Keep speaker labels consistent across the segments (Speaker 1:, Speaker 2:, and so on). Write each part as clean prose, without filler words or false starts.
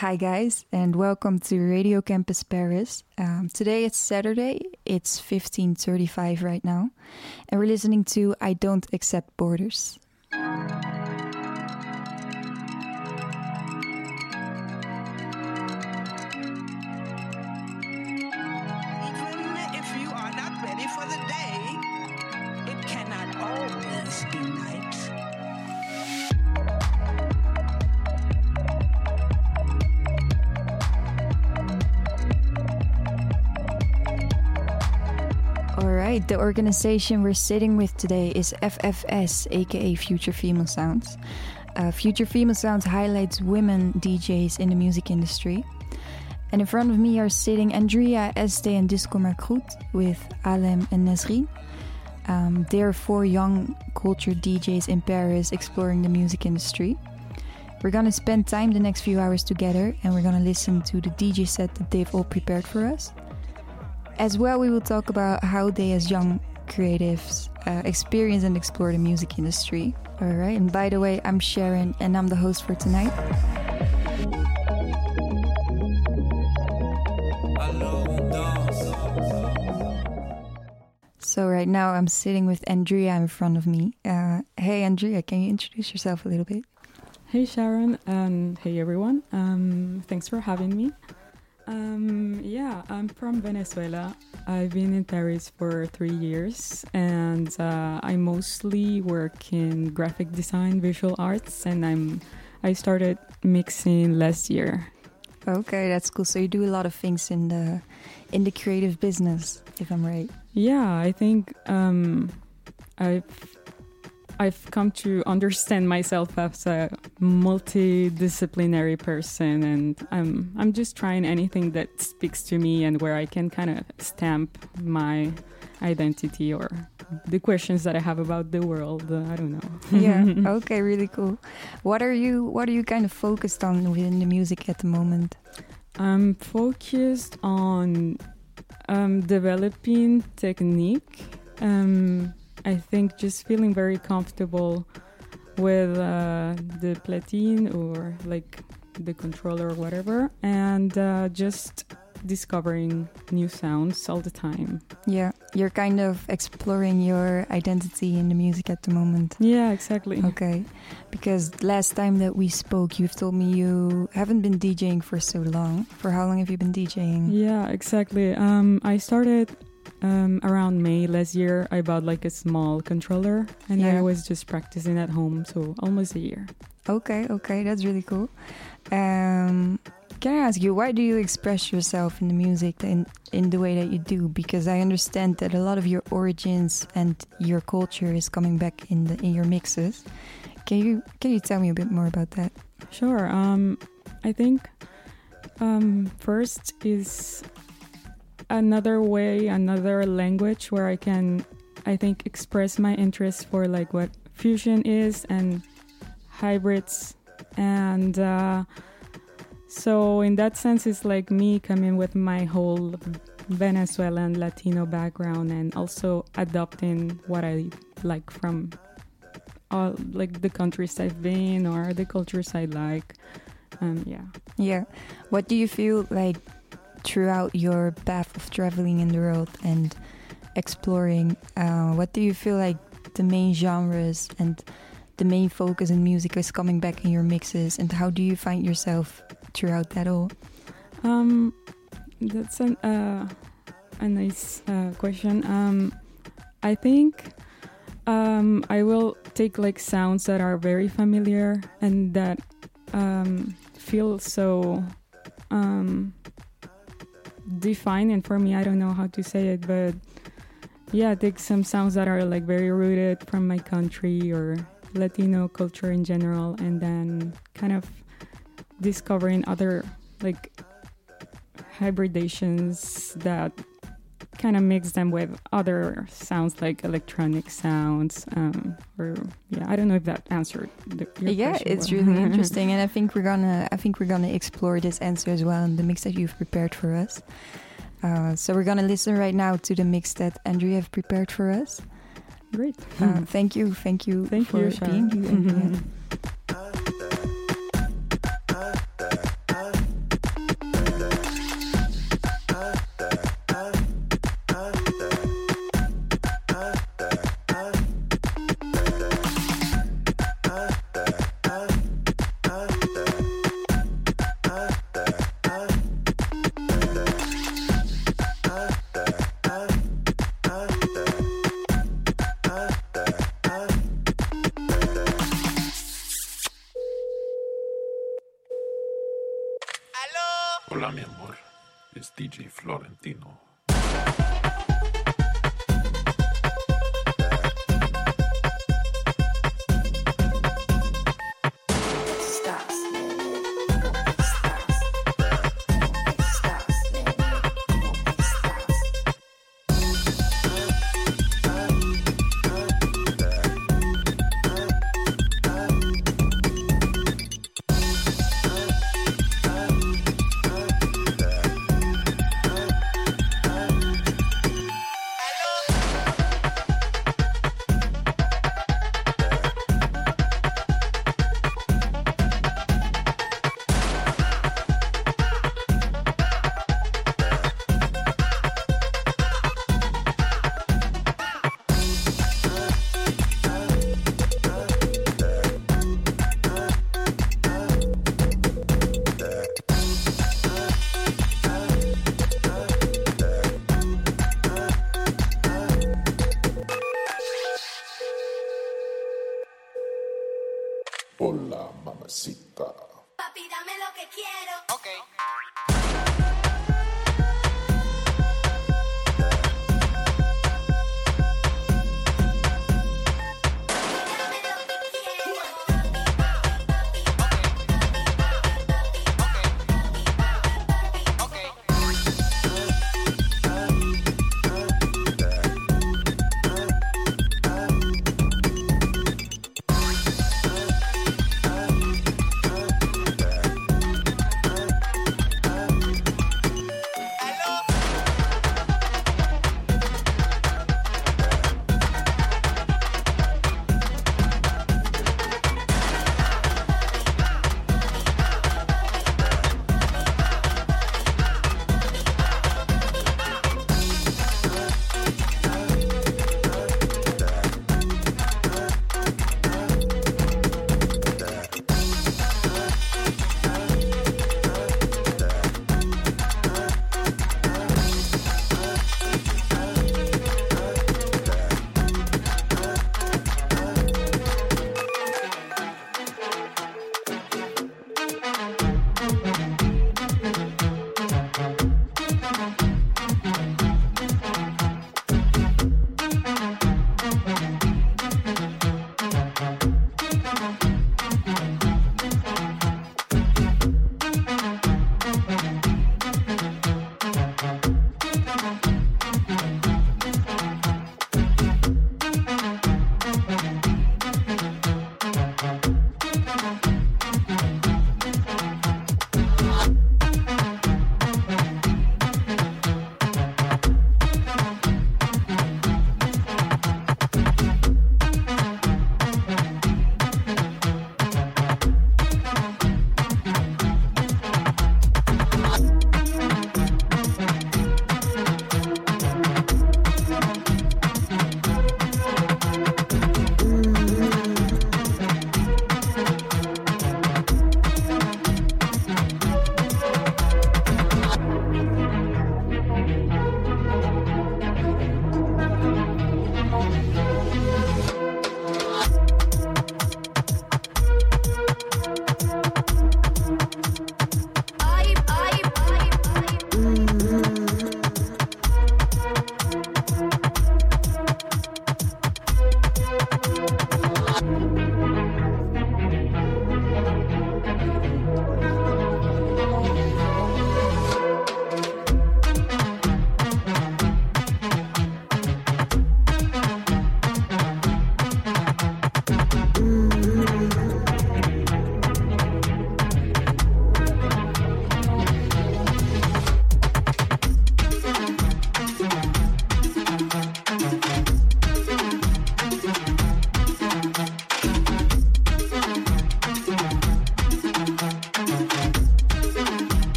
Speaker 1: Hi guys, and welcome to Radio Campus Paris. Today it's Saturday, it's 15:35 right now, and we're listening to I Don't Accept Borders. Alright, the organization we're sitting with today is FFS, aka Future Female Sounds. Future Female Sounds highlights women DJs in the music industry. And in front of me are sitting Andrea, Este, and Disco Margroet with Alem and Nesrine. They are 4 young culture DJs in Paris exploring the music industry. We're gonna spend time the next few hours together, and we're gonna listen to the DJ set that they've all prepared for us. As well, we will talk about how they, as young creatives, experience and explore the music industry. All right, and by the way, I'm Sharon, and I'm the host for tonight. So right now, I'm sitting with Andrea in front of me. Hey, Andrea, can you introduce yourself a little bit?
Speaker 2: Hey, Sharon, and hey, everyone. Thanks for having me. I'm from Venezuela. I've been in Paris for 3 years, and I mostly work in graphic design, visual arts, and I started mixing last year.
Speaker 1: Okay, that's cool. So you do a lot of things in the creative business, if I'm right.
Speaker 2: Yeah, I think I've come to understand myself as a multidisciplinary person, and I'm just trying anything that speaks to me and where I can kind of stamp my identity or the questions that I have about the world. I don't know.
Speaker 1: Yeah. Okay. Really cool. What are you kind of focused on within the music at the moment?
Speaker 2: I'm focused on developing technique. I think just feeling very comfortable with the platine or like the controller or whatever, and just discovering new sounds all the time.
Speaker 1: Yeah, you're kind of exploring your identity in the music at the moment.
Speaker 2: Yeah, exactly.
Speaker 1: Okay, because last time that we spoke, you've told me you haven't been DJing for so long. For how long have you been DJing?
Speaker 2: Yeah, exactly. I started around May last year. I bought like a small controller, and I was just practicing at home, so almost a year. Okay,
Speaker 1: that's really cool. Can I ask you, why do you express yourself in the music in the way that you do? Because I understand that a lot of your origins and your culture is coming back in your mixes. Can you tell me a bit more about that?
Speaker 2: Sure. I think first is another language where I can, I think, express my interest for like what fusion is and hybrids, and so in that sense it's like me coming with my whole Venezuelan Latino background and also adopting what I like from all like the countries I've been or the cultures I like. Yeah.
Speaker 1: What do you feel like throughout your path of traveling in the world and exploring, what do you feel like the main genres and the main focus in music is coming back in your mixes, and how do you find yourself throughout that all?
Speaker 2: That's a nice question. I think I will take like sounds that are very familiar and that feel so defining for me. I don't know how to say it, but yeah, take some sounds that are like very rooted from my country or Latino culture in general, and then kind of discovering other like hybridations that kind of mix them with other sounds like electronic sounds, I don't know if that answered your question.
Speaker 1: It's really interesting, and I think we're gonna explore this answer as well in the mix that you've prepared for us. So we're gonna listen right now to the mix that Andrea have prepared for us.
Speaker 2: Great.
Speaker 1: Thank you for being here.
Speaker 3: Hola, mi amor. Es DJ Florentino. Hola, mamacita.
Speaker 4: Papi, dame lo que quiero.
Speaker 5: Okay.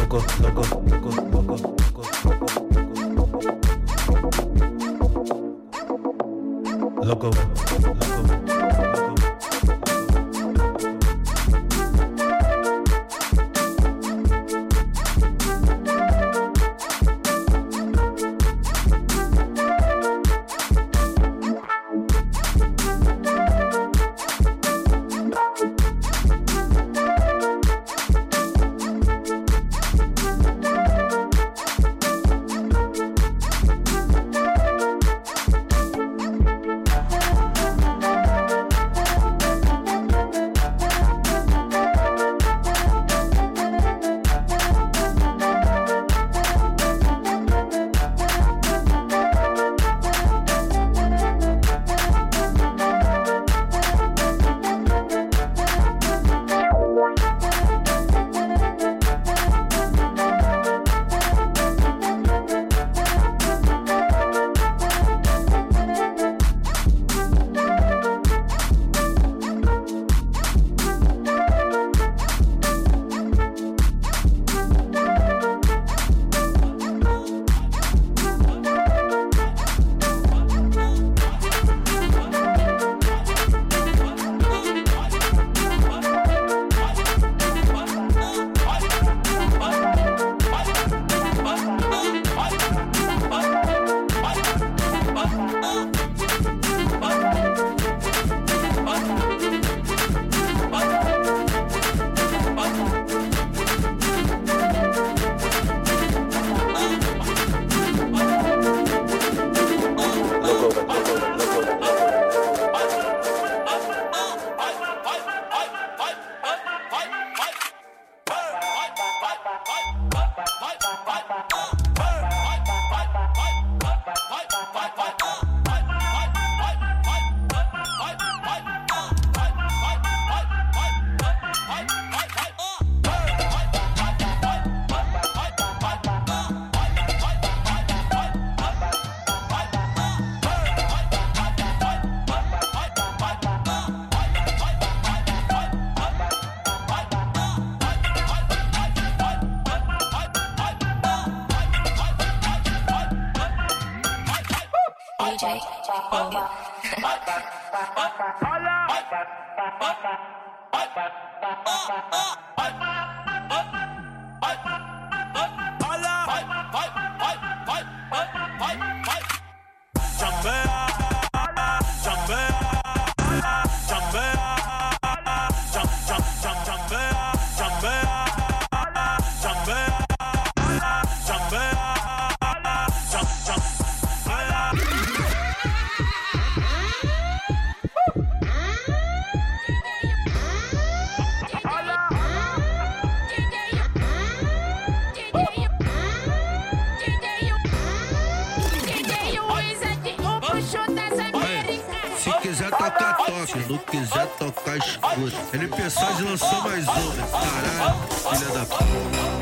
Speaker 5: loco, loco, loco, loco, loco, loco, loco.
Speaker 6: Se não quiser tocar, escuta. NP Sage lançou mais uma. Caralho, filha da puta.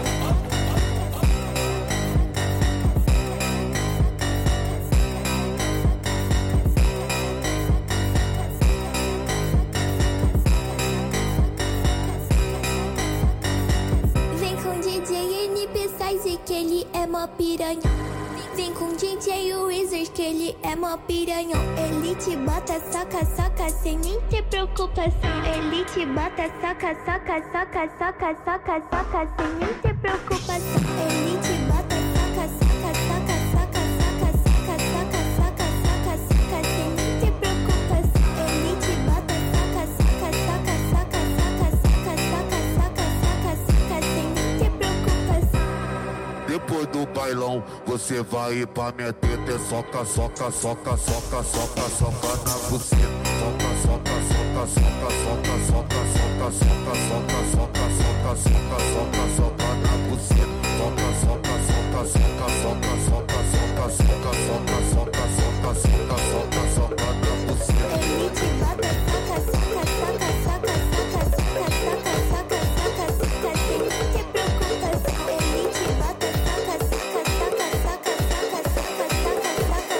Speaker 7: Vem com DJ NP Sage que ele é mó piranha. Vem com DJ Wizard que ele é mó piranhão. Ele te bota, soca, soca, sem nem ter preocupação. Ele te bota, soca, soca, soca, soca, soca, soca, sem nem ter preocupação. Ele te bota, soca, soca, soca, soca, soca, soca, soca, soca, soca, soca, sem nem ter preocupação. Ele te bota, soca, soca, soca, soca, soca, soca, soca, soca, soca, soca, sem nem ter preocupação.
Speaker 8: Depois do bailão, você vai ir pra minha teta, é soca, soca, soca, soca, soca, soca na buceta. Soca, soca, soca, soca, soca, soca, soca, soca, soca, soca, soca, soca, soca, soca na buceta. Soca, soca, soca, soca, soca, soca, soca, soca, soca, soca, soca, soca, soca, soca na buceta.
Speaker 7: Ele te bota, soca, soca, soca, soca, soca, soca, soca, soca, soca, soca, sem nem ter preocupação. Ele te bota, soca, soca, soca, soca, soca, soca, soca, soca,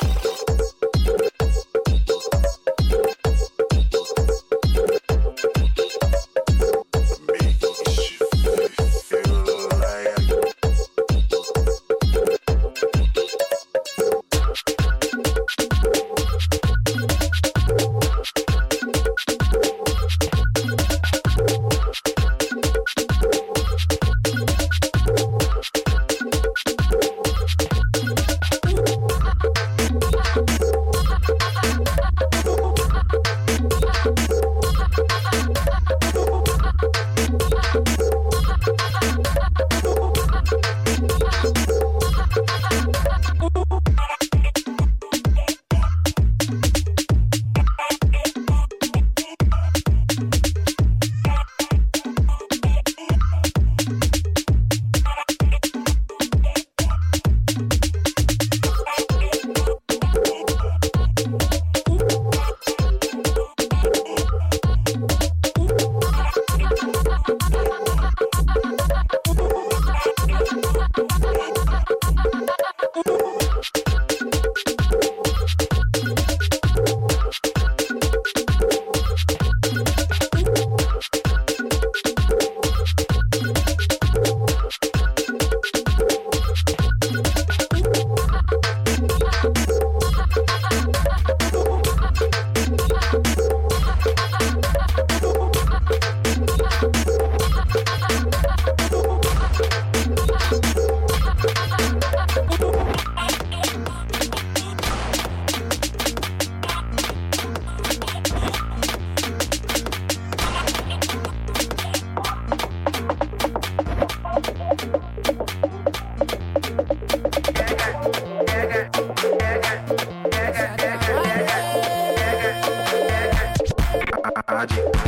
Speaker 7: soca, soca,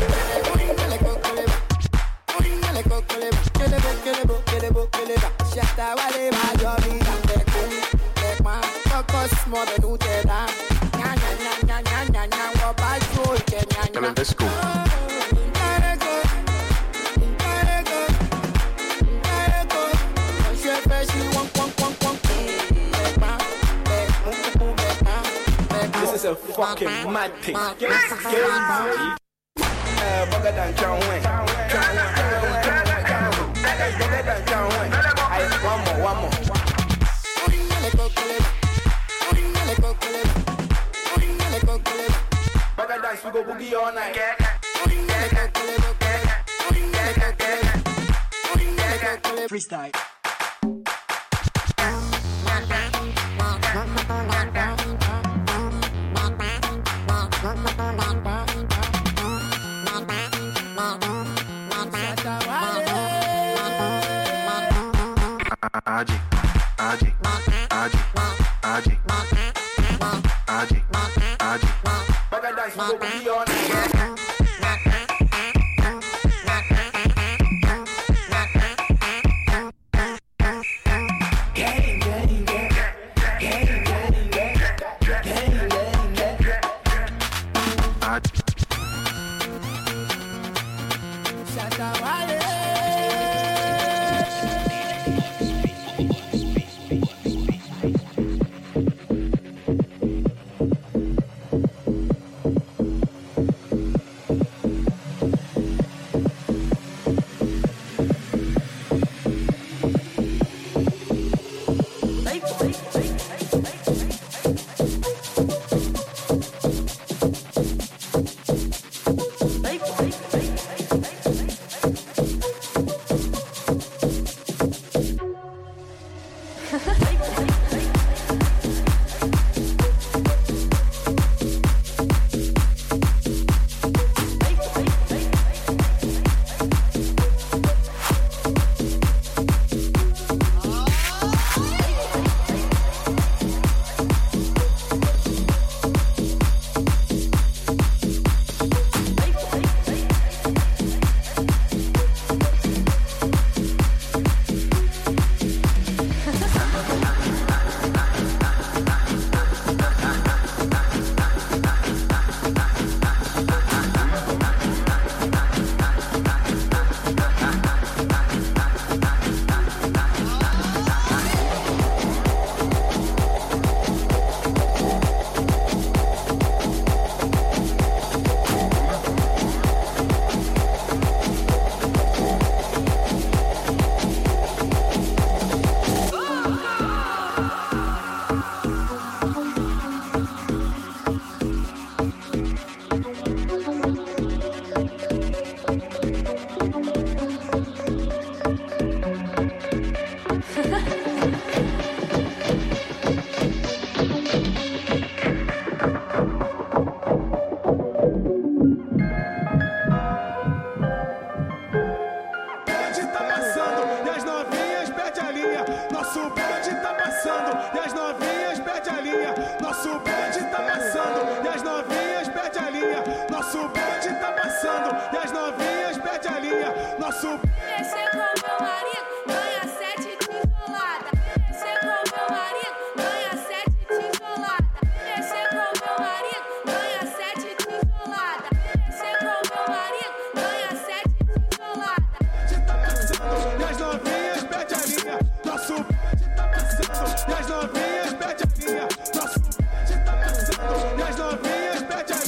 Speaker 9: This is a fucking mad thing. Get it. Bugger than John Wayne. One more. Bugger dance, we go boogie all night. Freestyle. Bugger dance, we go boogie all night.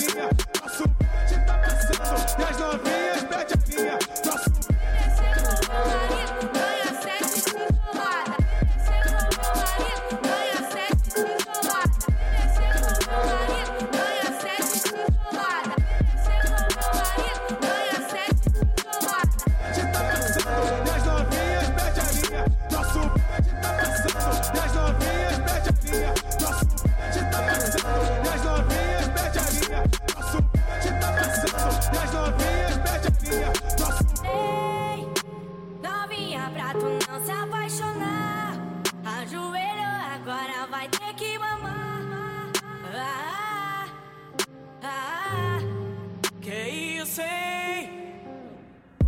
Speaker 10: Nosso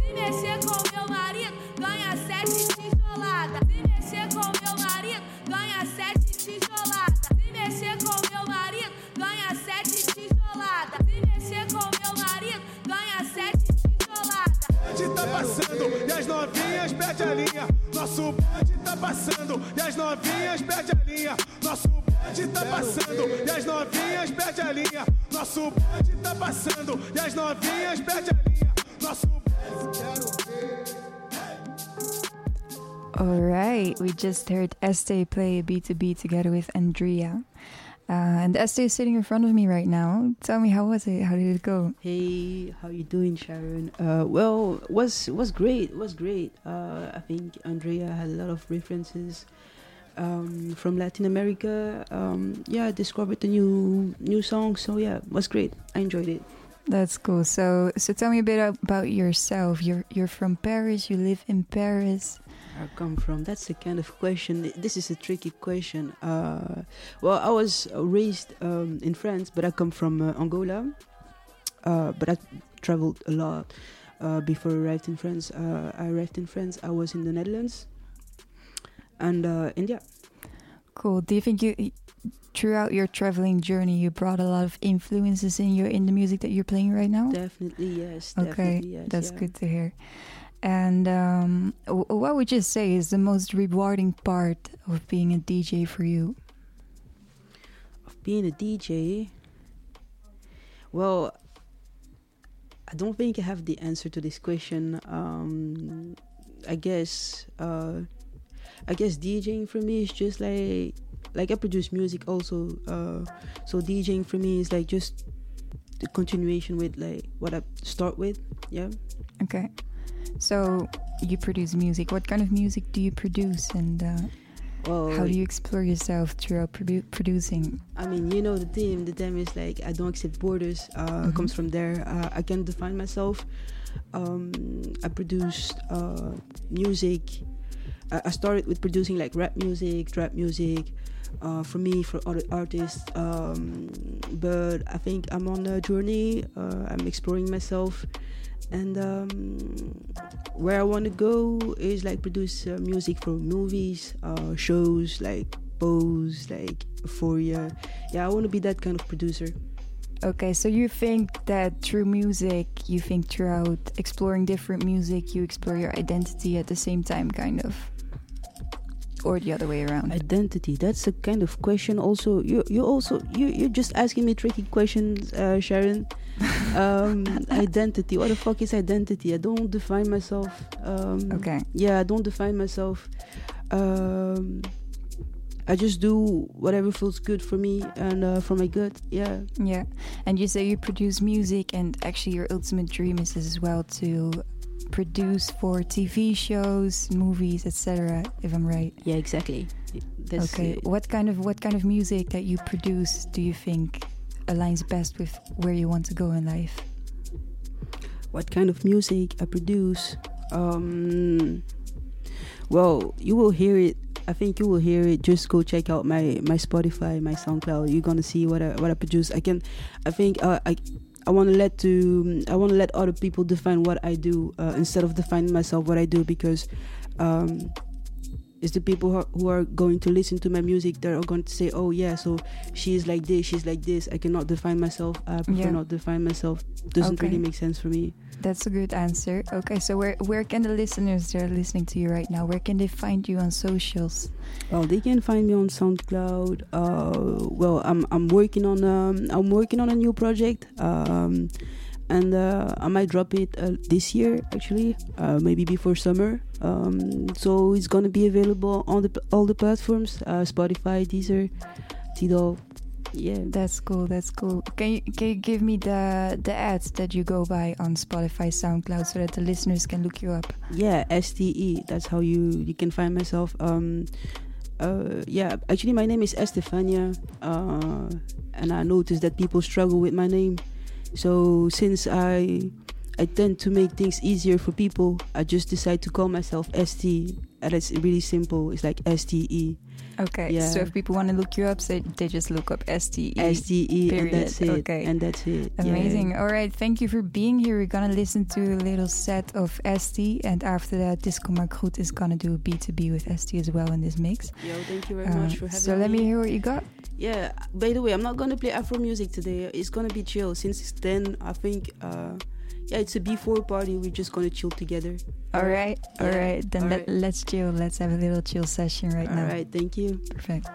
Speaker 10: Se mexer com meu marido, ganha 7 tijolada. Se mexer com meu marido, ganha 7 tijolada. Se mexer com meu marido, ganha 7 tijolada. Se mexer com meu marido, ganha 7 tijolada.
Speaker 11: Bonde tá passando e as novinhas perde a linha. Nosso bonde tá passando e as novinhas perde a linha. Nosso bonde tá passando e as novinhas perde a linha. Nosso bonde tá passando e as novinhas perde a linha. Nosso
Speaker 1: All right, we just heard Este play a B2B together with Andrea. And Este is sitting in front of me right now. Tell me, how was it? How did it go?
Speaker 12: Hey, how you doing, Sharon? Well, was great. It was great. I think Andrea had a lot of references from Latin America. Yeah, discovered a new song. So yeah, it was great. I enjoyed it.
Speaker 1: That's cool. So tell me a bit about yourself. You're from Paris. You live in Paris.
Speaker 12: I come from? That's the kind of question. This is a tricky question. Well, I was raised in France, but I come from Angola. But I traveled a lot before I arrived in France. I arrived in France. I was in the Netherlands and India.
Speaker 1: Cool. Do you think throughout your traveling journey, you brought a lot of influences in the music that you're playing right now?
Speaker 12: Definitely, yes.
Speaker 1: Okay,
Speaker 12: definitely, yes,
Speaker 1: that's
Speaker 12: yeah.
Speaker 1: good to hear. And what would you say is the most rewarding part of being a DJ for you?
Speaker 12: Of being a DJ? Well, I don't think I have the answer to this question. I guess DJing for me is just like I produce music also. So DJing for me is like just the continuation with like what I start with. Yeah.
Speaker 1: Okay. So you produce music. What kind of music do you produce, and how do you explore yourself throughout producing?
Speaker 12: I mean, you know, the theme is like I don't accept borders. Comes from there. I can define myself. I produced music. I started with producing like rap music, trap music, for me, for other artists. But I think I'm on a journey. I'm exploring myself. And where I want to go is like produce music for movies, shows like Pose, like Euphoria. Yeah, I want to be that kind of producer.
Speaker 1: Okay, so you think that through music, you think throughout exploring different music, you explore your identity at the same time, kind of? Or the other way around?
Speaker 12: Identity, that's a kind of question also. You're just asking me tricky questions, Sharon. Identity, what the fuck is identity? I don't define myself.
Speaker 1: Okay.
Speaker 12: Yeah, I don't define myself. I just do whatever feels good for me and for my gut. Yeah.
Speaker 1: Yeah. And you say you produce music, and actually your ultimate dream is as well to produce for TV shows, movies, etc. If I'm right.
Speaker 12: Yeah, exactly. That's
Speaker 1: okay. What kind of music that you produce do you think aligns best with where you want to go in life?
Speaker 12: What kind of music I produce? Well, you will hear it. I think you will hear it. Just go check out my Spotify, my SoundCloud. You're gonna see what I produce. I want to let other people define what I do instead of defining myself what I do, because it's the people who are going to listen to my music that are going to say, oh yeah, so she's like this. I cannot define myself. I prefer not define myself. Doesn't really make sense for me.
Speaker 1: That's a good answer. Okay, so where can the listeners that are listening to you right now, where can they find you on socials?
Speaker 12: Well, they can find me on SoundCloud. Well, I'm working on a new project, and I might drop it this year, actually, maybe before summer. So it's gonna be available on all the platforms: Spotify, Deezer, Tidal. Yeah,
Speaker 1: that's cool. Can you give me the ads that you go by on Spotify, SoundCloud, so that the listeners can look you up?
Speaker 12: Yeah, STE. That's how you can find myself. Yeah, actually my name is Estefania, and I noticed that people struggle with my name. So since I tend to make things easier for people, I just decide to call myself ST, and it's really simple. It's like STE.
Speaker 1: Okay,
Speaker 12: Yeah.
Speaker 1: so if people want to look you up, they just look up STE.
Speaker 12: STE,
Speaker 1: period.
Speaker 12: and that's it.
Speaker 1: Okay.
Speaker 12: And that's it.
Speaker 1: Amazing.
Speaker 12: Yeah.
Speaker 1: All right, thank you for being here. We're gonna listen to a little set of ST, and after that, Disco Margroet is gonna do a B2B with ST as well in this mix.
Speaker 12: Yo, thank you very much for having me.
Speaker 1: So let me hear what you got.
Speaker 12: Yeah, by the way, I'm not gonna play Afro music today. It's gonna be chill. Since then, I think, it's a B4 party. We're just gonna chill together.
Speaker 1: All right. Then
Speaker 12: All right.
Speaker 1: let's chill. Let's have a little chill session right now.
Speaker 12: All right, thank you.
Speaker 1: Perfect.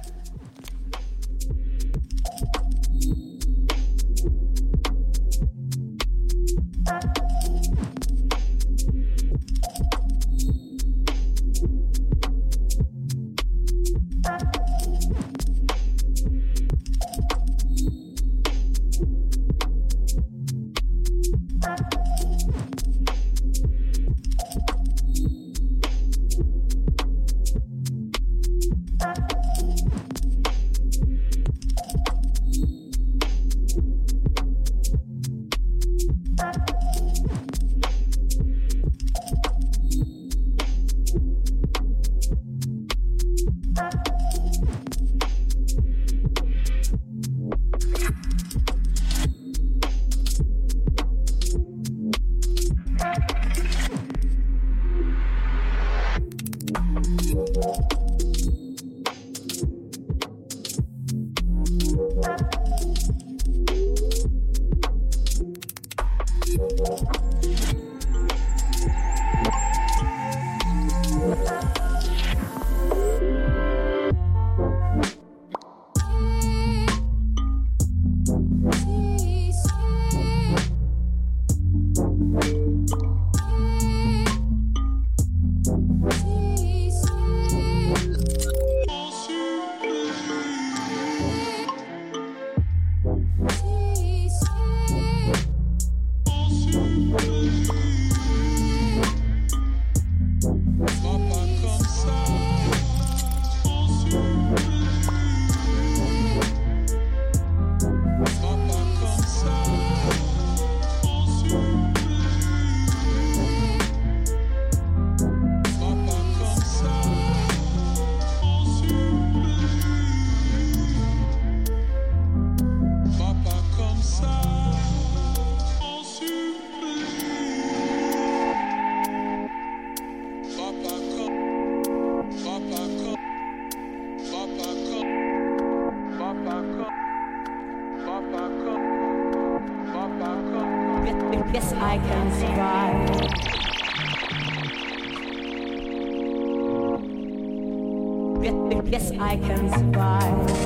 Speaker 13: Yes, I can survive. Yes, I can survive.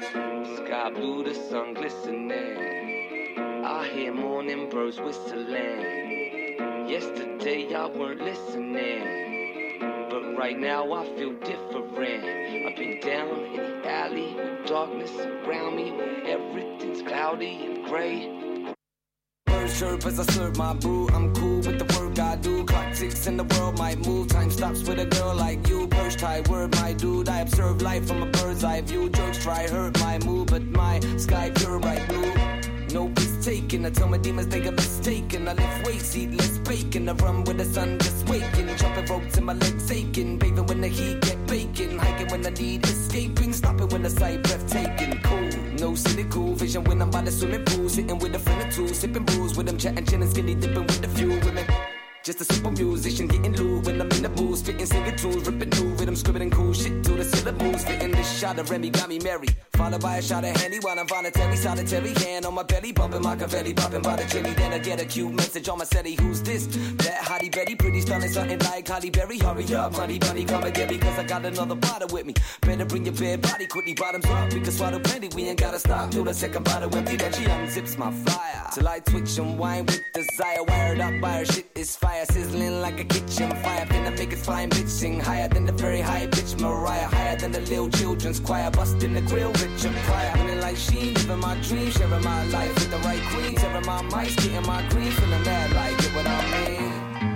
Speaker 14: Sky blue, the sun glistening. I hear morning birds whistling. Yesterday I weren't listening, but right now I feel different. I've been down in the alley with darkness around me, where everything's cloudy and gray. Birds chirp as I serve my brew. I'm cool with the work I do. Clock ticks and the world might move. Time stops with a girl like you. Perched high, word my dude. I observe life from a bird's eye view. Jokes try hurt my mood, but my sky pure bright blue. No piece taken. I tell my demons they got mistaken. I lift weights, eat less bacon. I run with the sun just waking. Jumping ropes and my legs aching. Bathing when the heat get baking. Hiking when I need escaping. Stopping when the sight breathtaking. Cool, no cynical vision when I'm by the swimming pool. Sitting with a friend or two, sipping brews with them, chatting, chilling, skinny dipping with the few women. Just a simple musician getting loose when I'm in the booth, spitting, singing tunes, ripping new rhythm, scribbling cool shit to the syllables, fitting this shot of Remy got me merry, followed by a shot of Henny while I'm voluntary, solitary hand on my belly, bumping Machiavelli, popping by the chili. Then I get a cute message on my setty. Who's this? That hottie Betty, pretty stunning, something like Holly Berry. Hurry up, honey bunny, come and get me, cause I got another bottle with me. Better bring your bare body, quickly bottoms up, we can swallow plenty. We ain't gotta stop till the second bottle empty. Then she unzips my flyer till I twitch and whine with desire. Wired up by her shit is fire, sizzling like a kitchen fire. Finna make it flying, bitch, sing higher than the very high pitch Mariah, higher than the little children's choir. Busting the grill, rich and prior. Feeling like she living my dream, sharing my life with the right queen, tearing my mics, getting my green, feeling mad like it what I mean.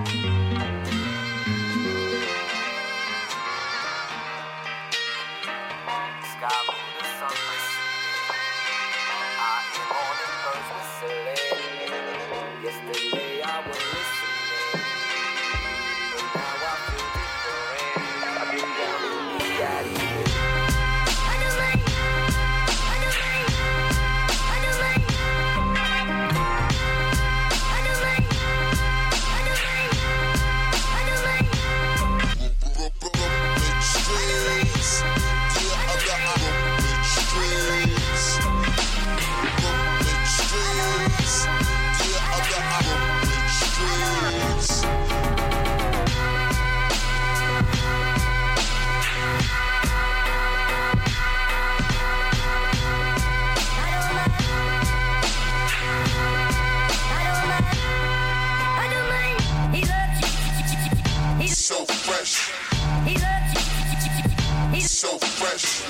Speaker 14: Sky blue, the sun glistening. I hear morning birds whistling. Yesterday I was listening, but now I feel different. I've been down in the alley.
Speaker 8: So fresh. So fresh.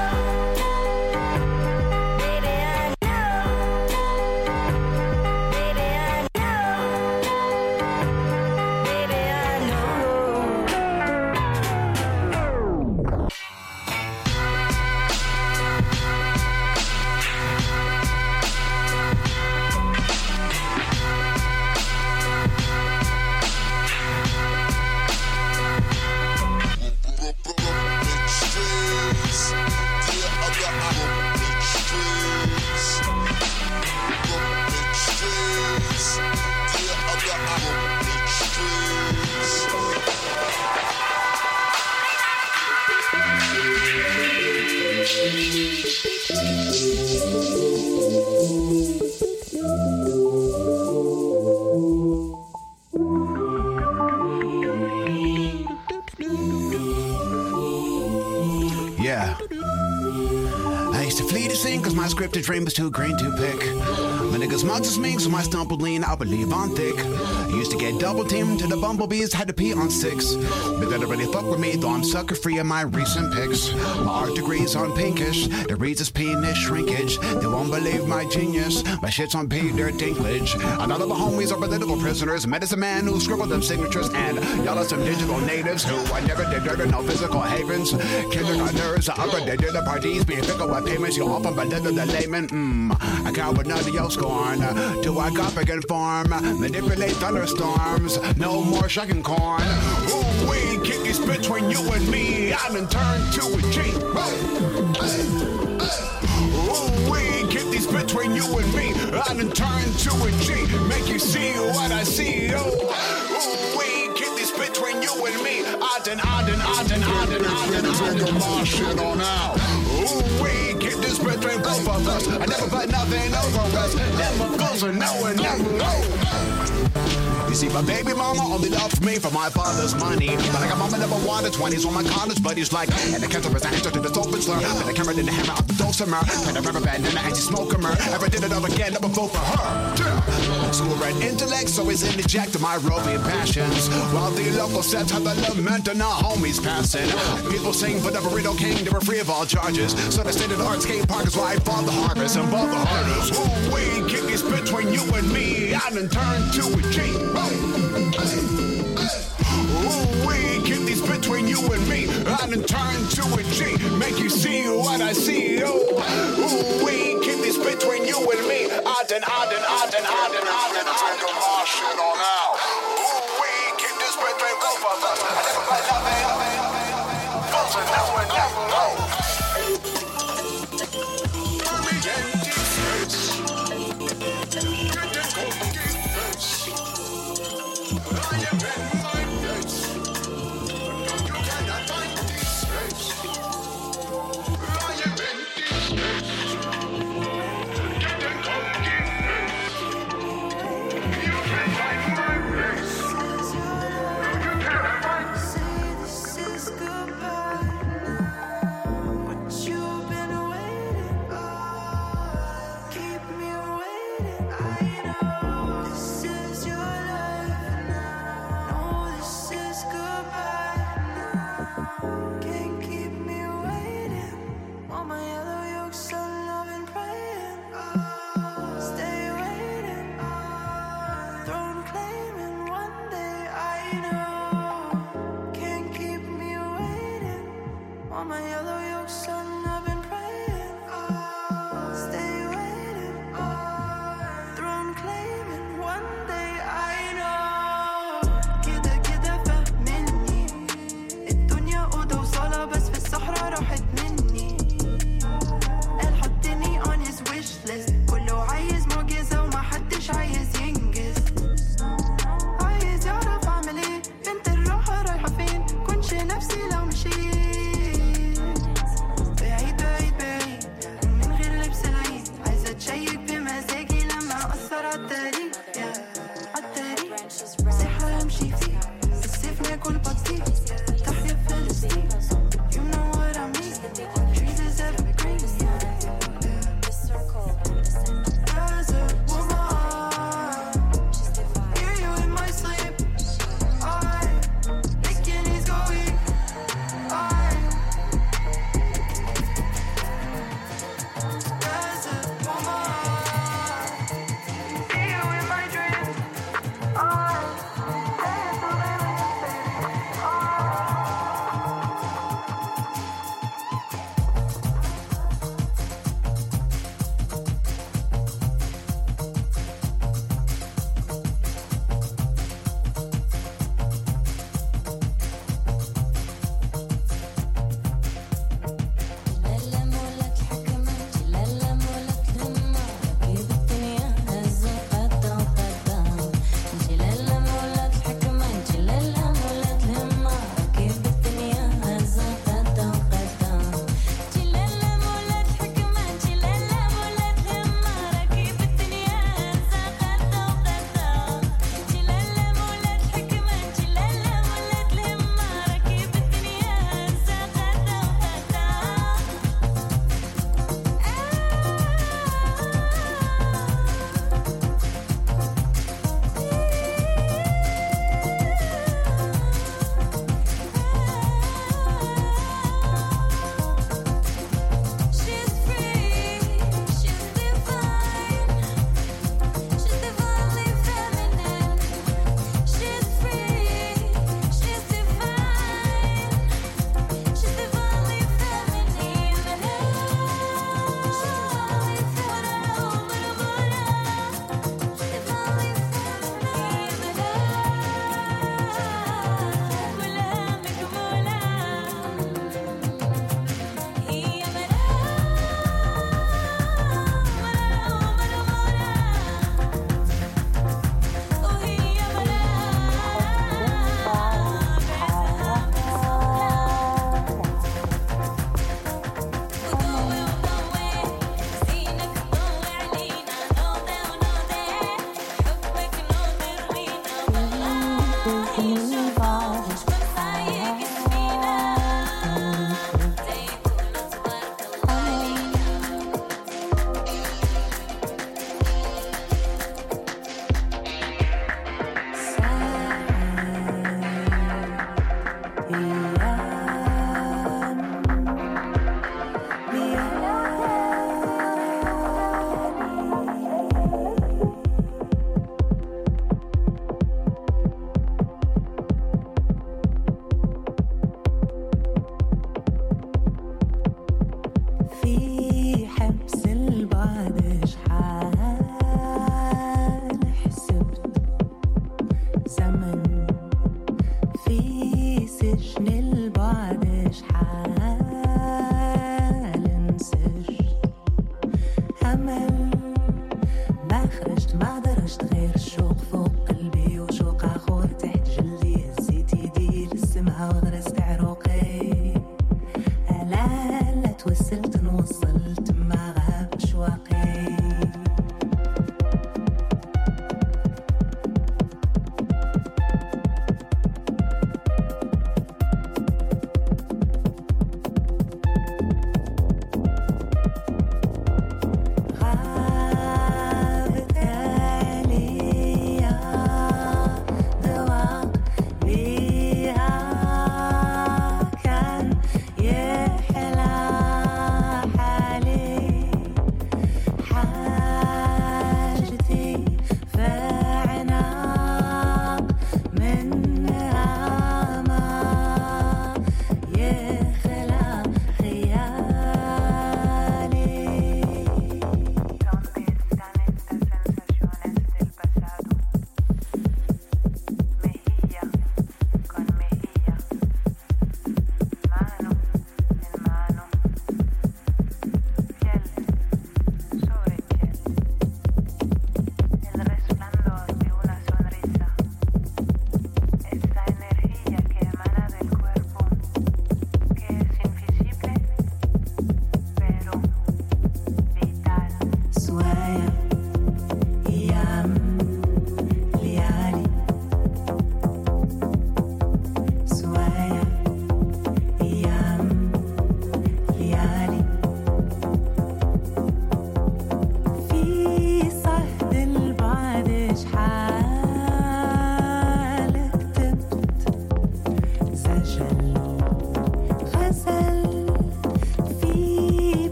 Speaker 15: Yeah. I used to flee the scene cause my scripted dream was too green to pick. My niggas mugs is mean, so my stumble lean, I believe on thick. I used to get double teamed to the bumblebees, had to pee on 6. But they don't really fuck with me, though I'm sucker free in my recent picks. My art degree's on pinkish, the reads is penis shrinkage. They won't believe my genius, my shit's on Peter Dinklage. And all of my homies are political prisoners, medicine man who scribbled them signatures. And y'all are some digital natives who I never did dirt no physical havens. Kindergartners are upper, they did the parties, being fickle with payments, you often belittle the layman. I count with none of your scorn, till I got back and farm, manipulate thunderstorms, no more shucking corn. Ooh, we kick this between you and me, I done turned to a G. Ooh, we kick these between you and me, I done turned to a G, make you see what I see. Ooh, we kick this between you and me, I done my shit on out. Ooh, we kick this between both of us, I never put nothing over us, never goes or no and never go. You see, my baby mama only loved me for my father's money. But I got mama number one, the 20s on my college buddies like. And the counter was an answer to the open slur. And the camera didn't hammer out the dulcimer. And I remember band in the anti-smoker. Ever did it all again, never vote for her. School red intellect, so he's interjecting my roving passions. While the local sets have the lament and our homies passing. People sing for the burrito king, they were free of all charges. So the state of the art skate park is where I fought the harvest and bought the hardest. Ooh, we kick is between you and me. I done turned to a G. Ooh, we keep these between you and me. I done turned to a G. Make you see what I see. Ooh, we keep these between you and me. I done take my shit on out. Ooh, we keep this between both of us. I never play nothing. Folks will never know.
Speaker 8: You can find
Speaker 16: أجمل ما خرجت ما درجت غير الشوق فوق قلبي وشوق آخر تحت جلدي هزيت يدي للسما وغرست عروقي لا توسلت نوصلت ما غاب أشواقي غابت عليا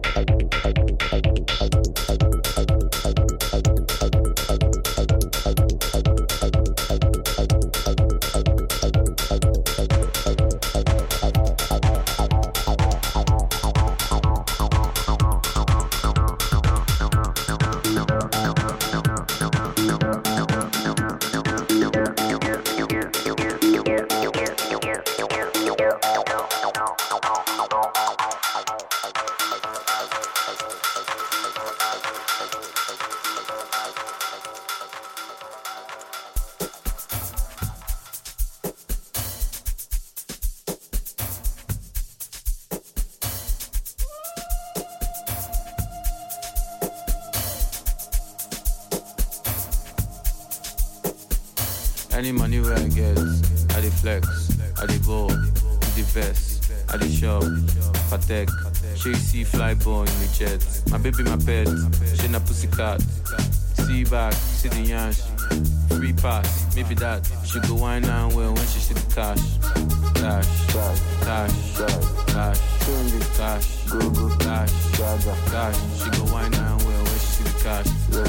Speaker 17: Any money where I get, I dey flex, I dey ball, the vest, I dey shop, Patek, she see fly ball in the jet. My baby, my pet, she na pussycat. See back, see the yansh, free pass, maybe that. She go wine and well when she see the cash. Cash, cash, cash, cash, cash, go go cash, cash. She go wine and well when she see the cash.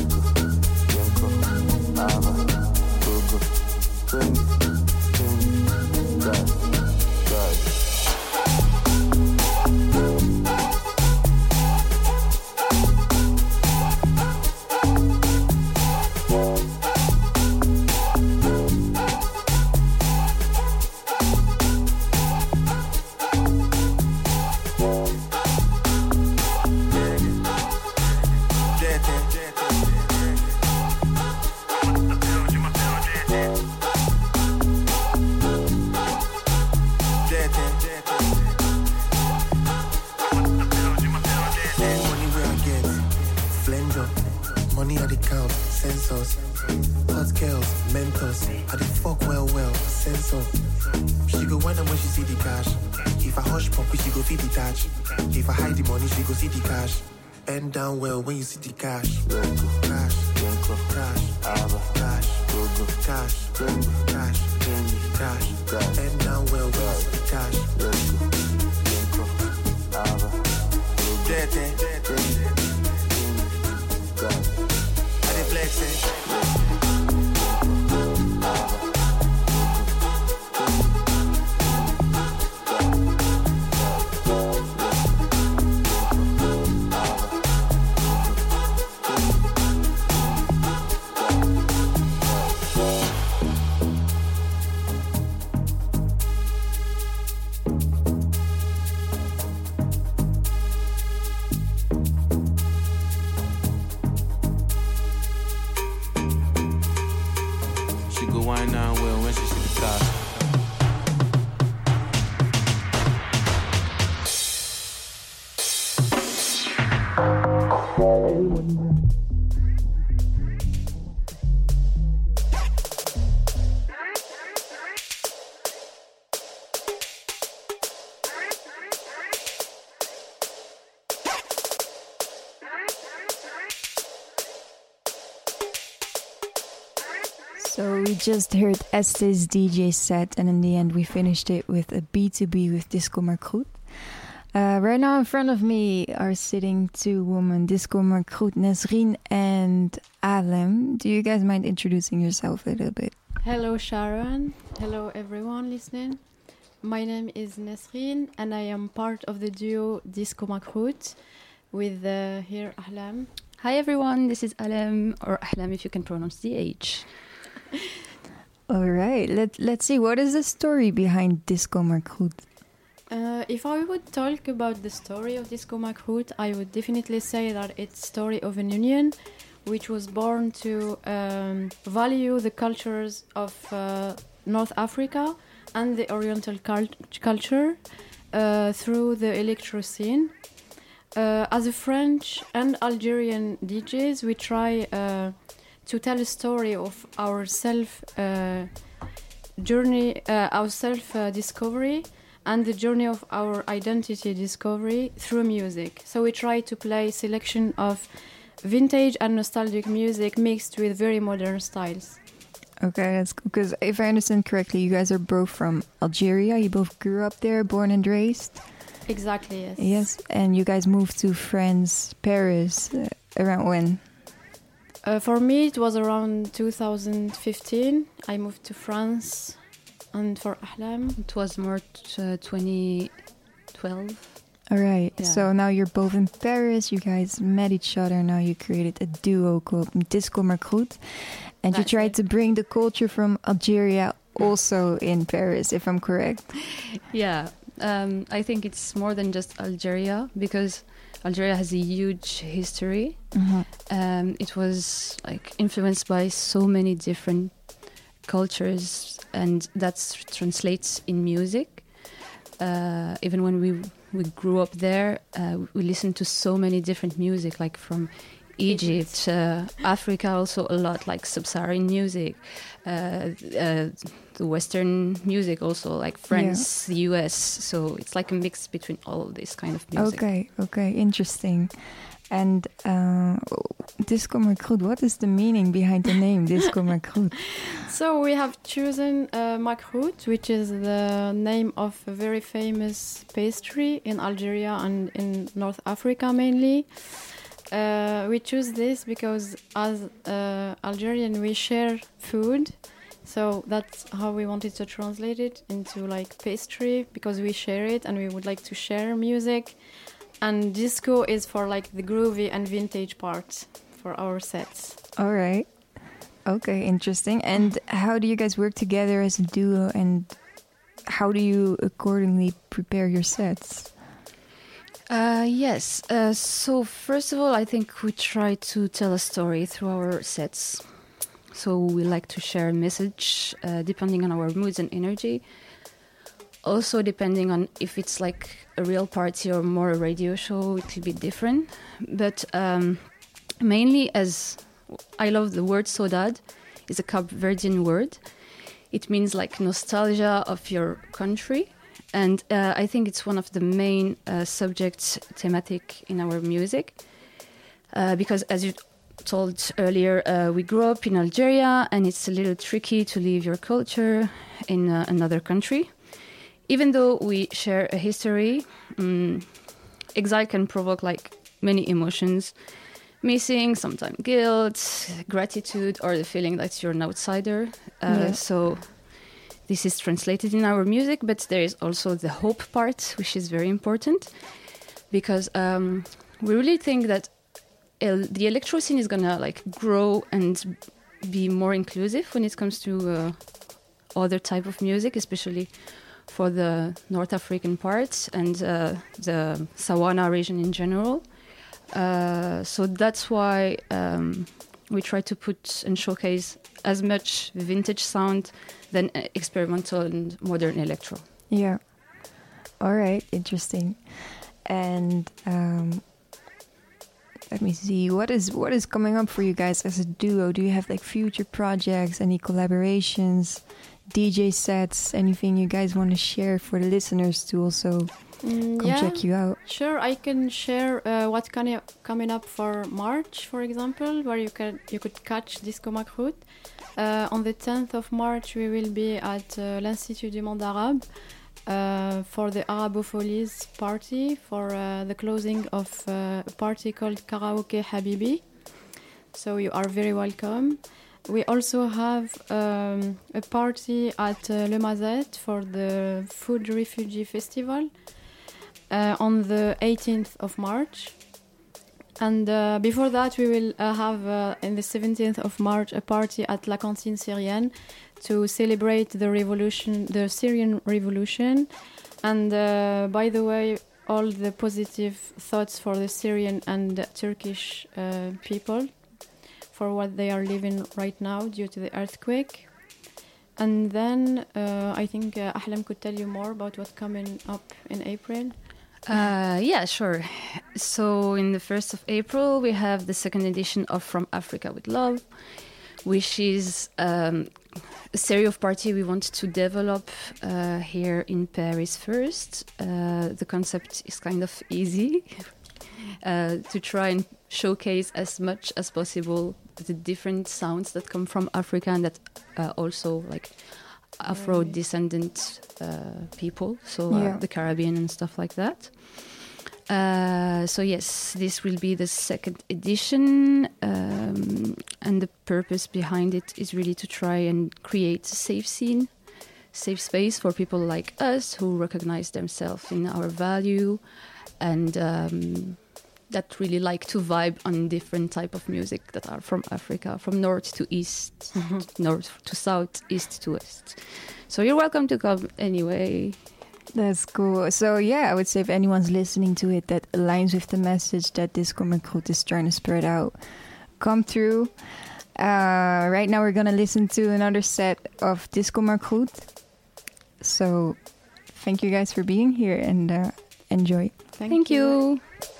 Speaker 18: Bend down well when you see the cash. Cash, cash, cash, cash, cash, cash. Bend down well when you see the cash. I dey flex it.
Speaker 1: So we just heard Estes DJ set, and in the end we finished it with a B2B with Disco Markroet. Right now in front of me are sitting two women, Disco Markroet, Nesrine and Alem. Do you guys mind introducing yourself a little bit?
Speaker 19: Hello Sharon, hello everyone listening. My name is Nesrine and I am part of the duo Disco Markroet with here Ahlam.
Speaker 20: Hi everyone, this is Alem, or Ahlam if you can pronounce the H.
Speaker 1: All right, let's see, what is the story behind Disco Markroet?
Speaker 19: If I would talk about the story of Disco Markroet, I would definitely say that it's the story of an union which was born to value the cultures of North Africa and the Oriental culture through the electro scene. As a French and Algerian DJs, we try to tell a story of our journey, our self-discovery, and the journey of our identity discovery through music. So we try to play selection of vintage and nostalgic music mixed with very modern styles.
Speaker 1: Okay, that's cool. Because if I understand correctly, you guys are both from Algeria. You both grew up there, born and raised.
Speaker 19: Exactly, yes.
Speaker 1: Yes, and you guys moved to France, Paris, around when?
Speaker 19: For me, it was around 2015. I moved to France, and for Ahlam,
Speaker 20: it was more 2012.
Speaker 1: All right.
Speaker 20: Yeah.
Speaker 1: So now you're both in Paris. You guys met each other. Now you created a duo called Disco Margroet. And you tried to bring the culture from Algeria also in Paris, if I'm correct.
Speaker 20: Yeah. I think it's more than just Algeria, because Algeria has a huge history. It was like influenced by so many different cultures, and that translates in music. Even when we grew up there, we listened to so many different music, like from Egypt, Africa, also a lot, like sub-Saharan music, the Western music, also like France, the US. So it's like a mix between all of this kind of music.
Speaker 1: Okay, interesting. And Disco Margroet, what is the meaning behind the name Disco Margroet?
Speaker 19: So we have chosen Margroet, which is the name of a very famous pastry in Algeria and in North Africa mainly. We choose this because as Algerian we share food, so that's how we wanted to translate it into like pastry, because we share it and we would like to share music. And disco is for like the groovy and vintage part for our sets.
Speaker 1: All right. Okay, interesting. And how do you guys work together as a duo, and how do you accordingly prepare your sets?
Speaker 20: Yes. So first of all, I think we try to tell a story through our sets. So we like to share a message depending on our moods and energy. Also, depending on if it's like a real party or more a radio show, it will be different. But mainly, as I love the word saudade, it's a Cape Verdean word. It means like nostalgia of your country. And I think it's one of the main subjects thematic in our music. Because as you told earlier, we grew up in Algeria, and it's a little tricky to leave your culture in another country. Even though we share a history, exile can provoke like many emotions. Missing, sometimes guilt, gratitude, or the feeling that you're an outsider. So this is translated in our music, but there is also the hope part, which is very important. Because we really think that the electro scene is gonna like grow and be more inclusive when it comes to other type of music, especially for the North African parts and the Sawana region in general. So that's why we try to put and showcase as much vintage sound than experimental and modern electro.
Speaker 1: Yeah. All right. Interesting. And let me see. What is coming up for you guys as a duo? Do you have like future projects, any collaborations, DJ sets, anything you guys want to share for the listeners to also come check you out?
Speaker 19: Sure, I can share what's coming up for March, for example, where you could catch Disco Margroet. On the 10th of March, we will be at l'Institut du Monde Arabe for the Arabofolies party, for the closing of a party called Karaoke Habibi. So you are very welcome. We also have a party at Le Mazet for the Food Refugee Festival on the 18th of March. And before that, we will have, in the 17th of March, a party at La Cantine Syrienne to celebrate the revolution, the Syrian revolution. And by the way, all the positive thoughts for the Syrian and Turkish people, for what they are living right now due to the earthquake. And then I think Ahlam could tell you more about what's coming up in April.
Speaker 20: Yeah, sure. So in the 1st of April, we have the second edition of From Africa with Love, which is a series of party we want to develop here in Paris first. The concept is kind of easy to try and showcase as much as possible the different sounds that come from Africa and that also like Afro-descendant people, so the Caribbean and stuff like that. So yes, this will be the second edition, and the purpose behind it is really to try and create a safe scene, safe space for people like us who recognize themselves in our value and that really like to vibe on different type of music that are from Africa, from north to east, north to south, east to west. So you're welcome to come anyway.
Speaker 1: That's cool. So yeah, I would say if anyone's listening to it that aligns with the message that Disco Makrut is trying to spread out, come through. Right now we're going to listen to another set of Disco Makrut. So thank you guys for being here and enjoy.
Speaker 20: Thank you.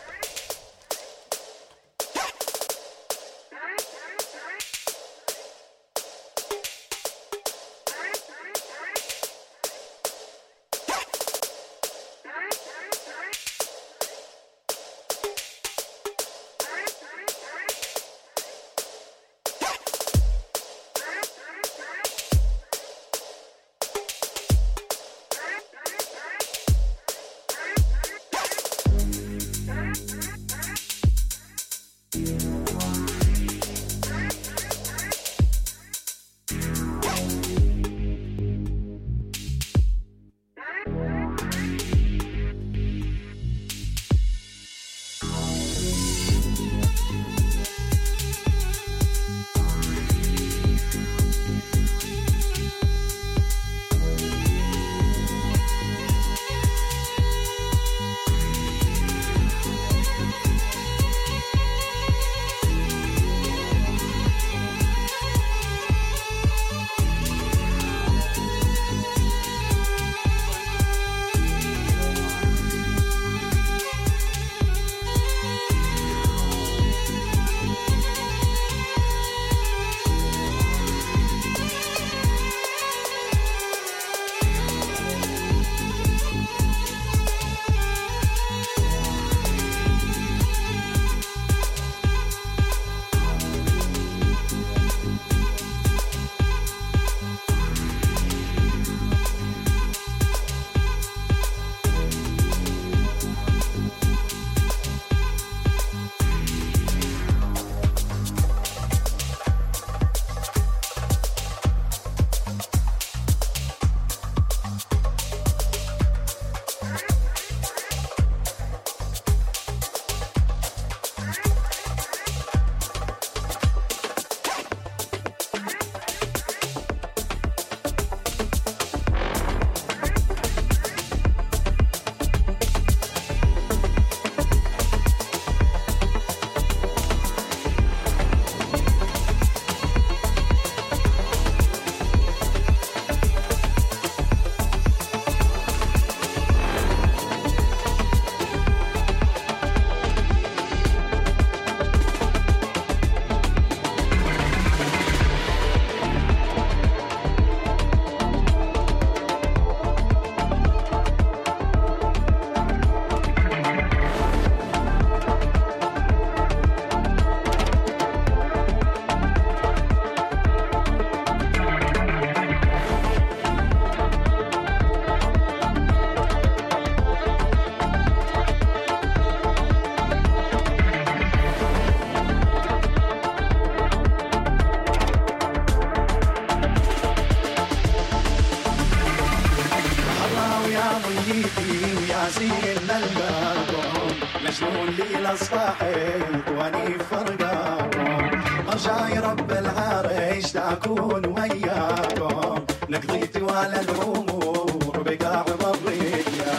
Speaker 11: مجنون لي لصباحي واني فرقاكم رجاي رب العرش تكون وياكم نقضيتي ولا الامور بقاع مرية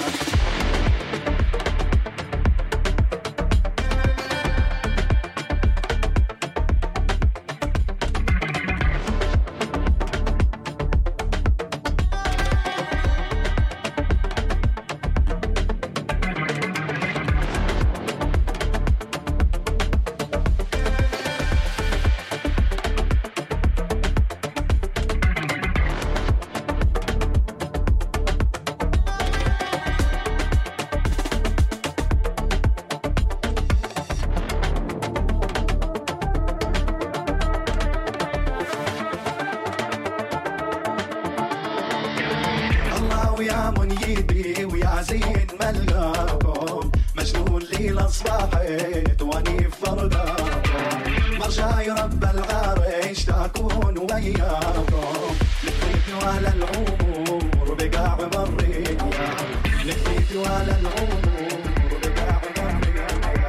Speaker 21: ويا منيبي ويا زين ملقاكم مجنون ليلة صباحت واني فرقاكم مرجاي رب العرش تكون وياكم لفيت على العمر بقاع مريت لفيت على العمر بقاع مريت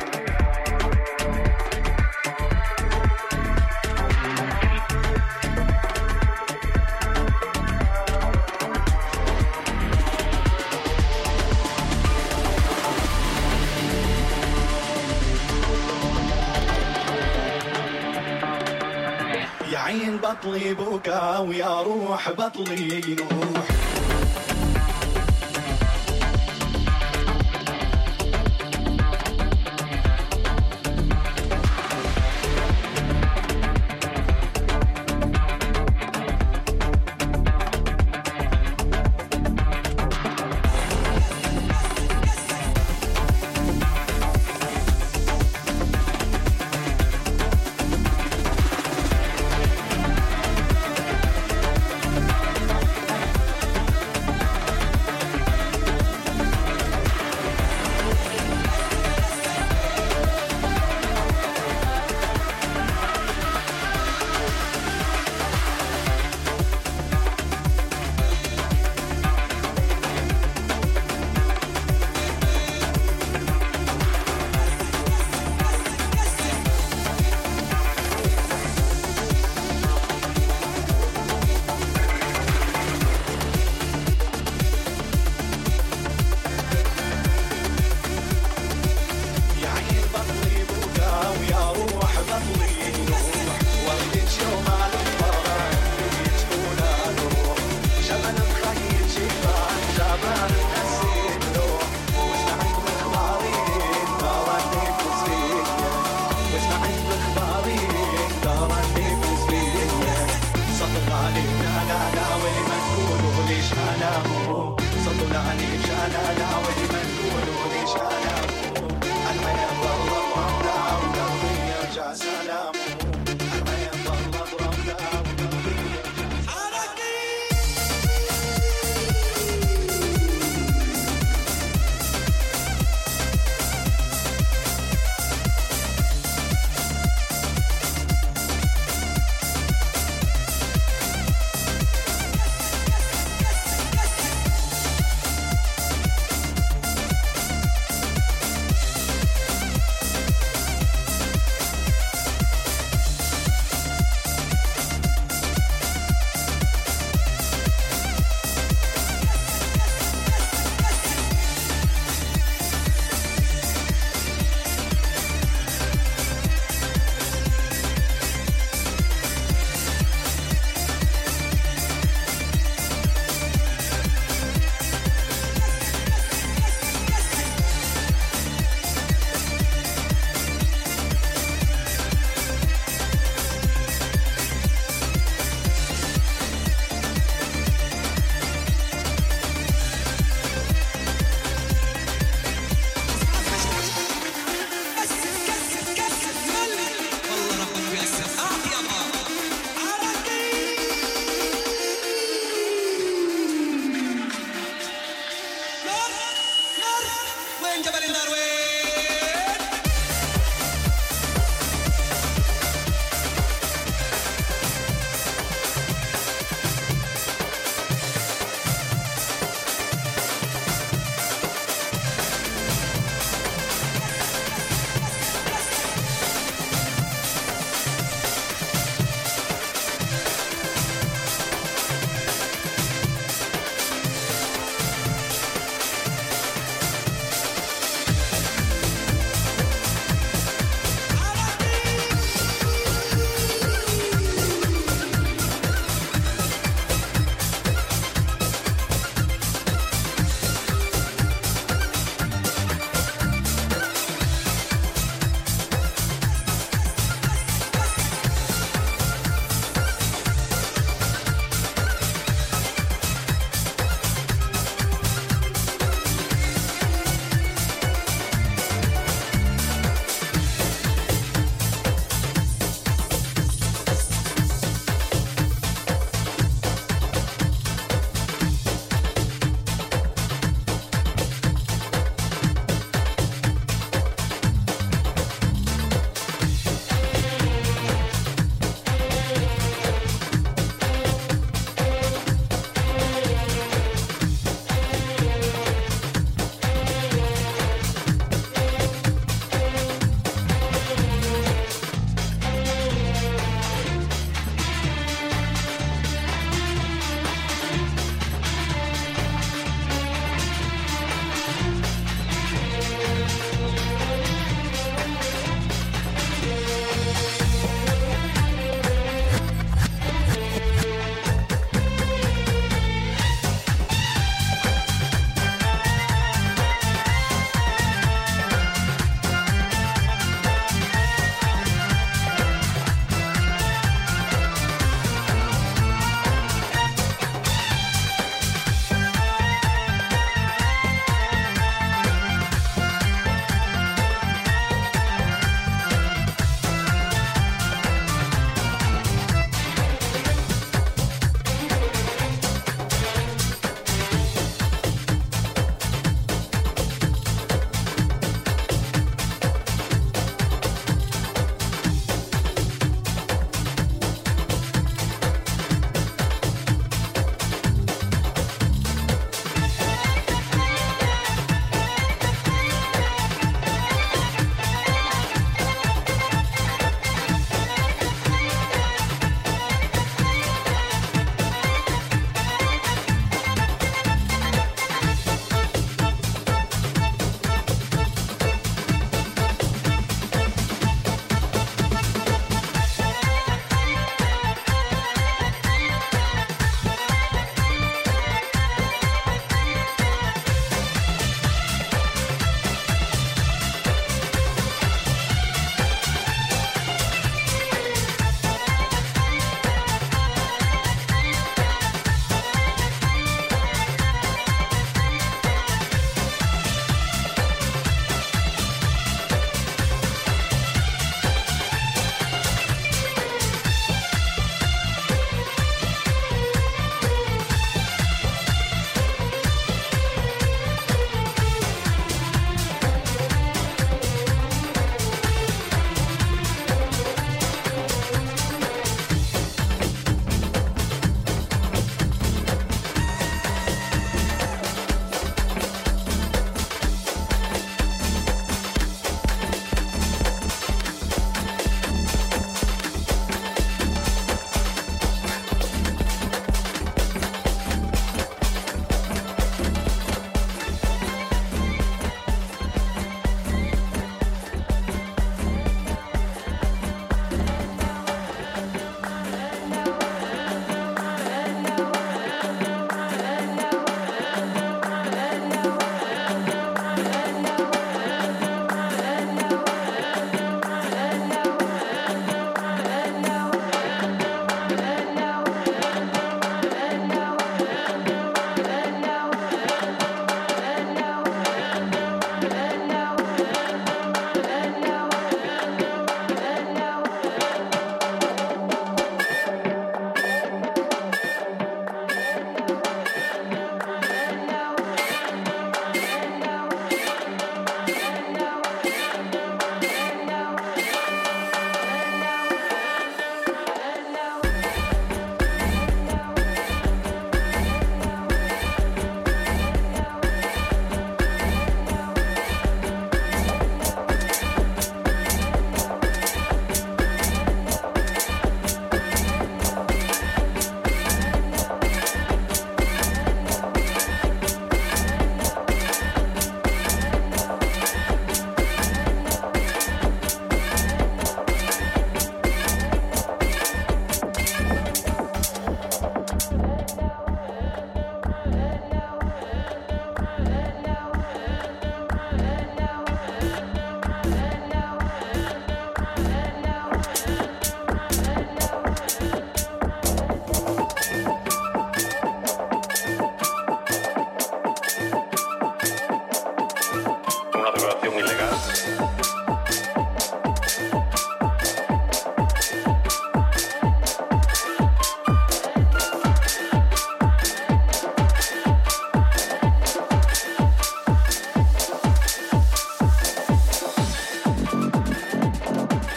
Speaker 21: يا عين بطلي بكا ويا روح بطلي نوح